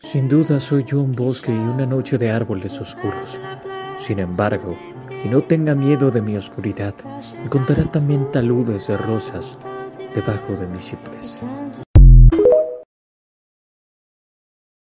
Sin duda soy yo un bosque y una noche de árboles oscuros. Sin embargo, quien no tenga miedo de mi oscuridad, encontrará también taludes de rosas debajo de mis cipreses.